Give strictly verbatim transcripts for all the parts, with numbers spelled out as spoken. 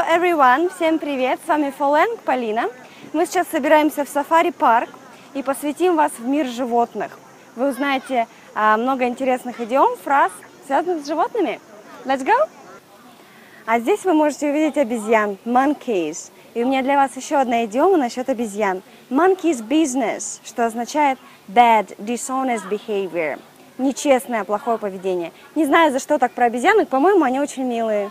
everyone! Всем привет! С вами Фоленг, Полина. Мы сейчас собираемся в сафари-парк и посвятим вас в мир животных. Вы узнаете а, много интересных идиом, фраз, связанных с животными. Let's go! А здесь вы можете увидеть обезьян, monkeys. И у меня для вас еще одна идиома насчет обезьян. Monkey's business, что означает bad, dishonest behavior. Нечестное, плохое поведение. Не знаю, за что так про обезьянок, по-моему, они очень милые.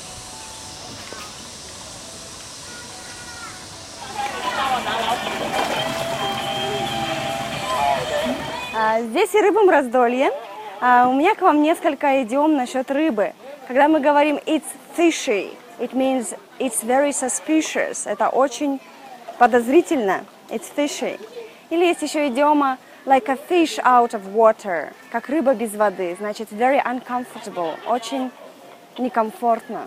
Здесь и рыбам раздолье. У меня к вам несколько идиом насчет рыбы. Когда мы говорим it's fishy, it means it's very suspicious. Это очень подозрительно. It's fishy. Или есть еще идиома like a fish out of water, как рыба без воды. Значит, very uncomfortable, очень некомфортно.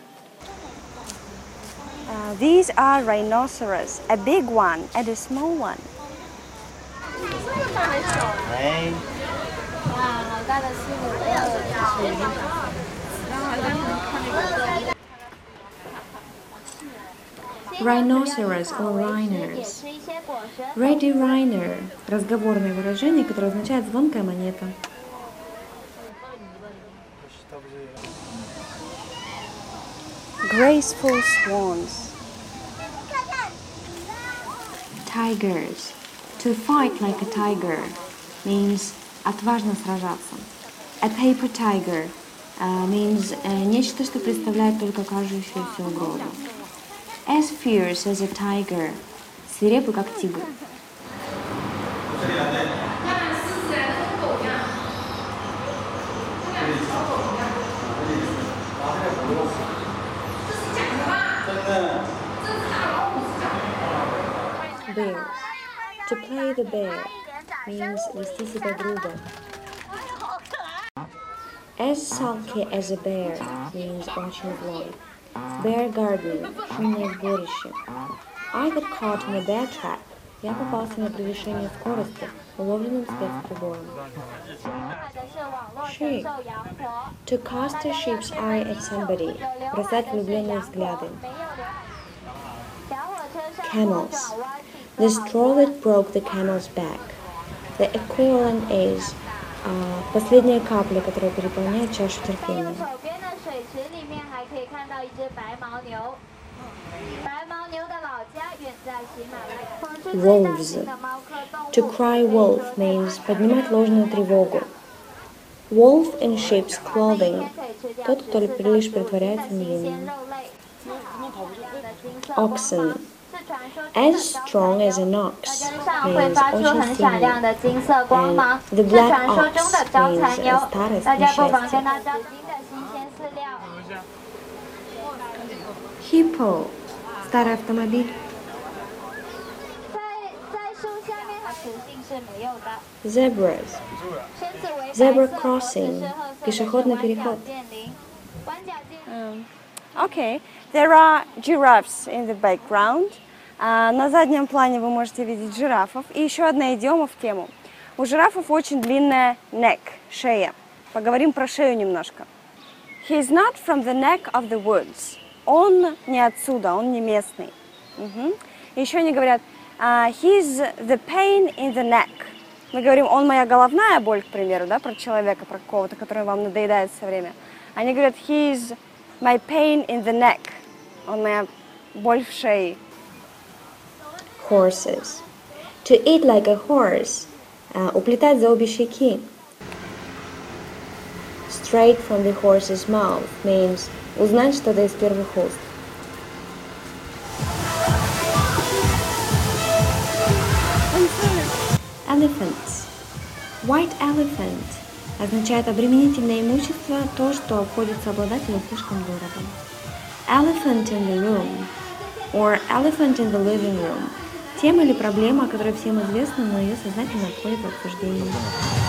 Uh, these are rhinoceros, a big one and a small one. Rhinoceros or rhinos. Ready Rhino – разговорное выражение, которое означает звонкая монета. Graceful swans. Tigers. To fight like a tiger means отважно сражаться. A paper tiger uh, means uh, нечто, что представляет только кажущуюся угрозу. As fierce as a tiger. Свирепый, как тигр. Bear. To play the bear means вести себя грубо. As sulky as a bear means очень злой. Bear garden – шумное сборище. I got caught in a bear trap. Я попался на превышение скорости, уловленным спецприбором. Sheep. To cast a sheep's eye at somebody. Бросать влюбленные взгляды. Camels. The straw that broke the camel's back. The equivalent is uh, последняя капля, которая переполняет чашу терпения. Wolves. To cry wolf means поднимать ложную тревогу. Wolf in sheep's clothing. Тот, кто лишь притворяется невинным. Oxen. As strong as an ox means очень сильный. And the black ox means старость, несчастье. Hippo. Старый автомобиль. Zebras. Zebra crossing. Пешеходный переход. Um, okay, there are giraffes in the background. Uh, на заднем плане вы можете видеть жирафов. И еще одна идиома в тему. У жирафов очень длинная neck, шея. Поговорим про шею немножко. He's not from the neck of the woods. Он не отсюда, он не местный. Uh-huh. Еще они говорят uh, he's the pain in the neck. Мы говорим, он моя головная боль, к примеру, да, про человека, про какого-то, который вам надоедает все время. Они говорят, he's my pain in the neck. Он моя боль в шее. Horses. To eat like a horse. Uh, уплетать за обе щеки. Straight from the horse's mouth means узнать что-то из первых уст. Elephants. White elephant означает обременительное имущество, то, что обходится обладателю слишком дорого. Elephant in the room or elephant in the living room. Тема или проблема, которая всем известна, но ее сознательно отходит в обсуждении.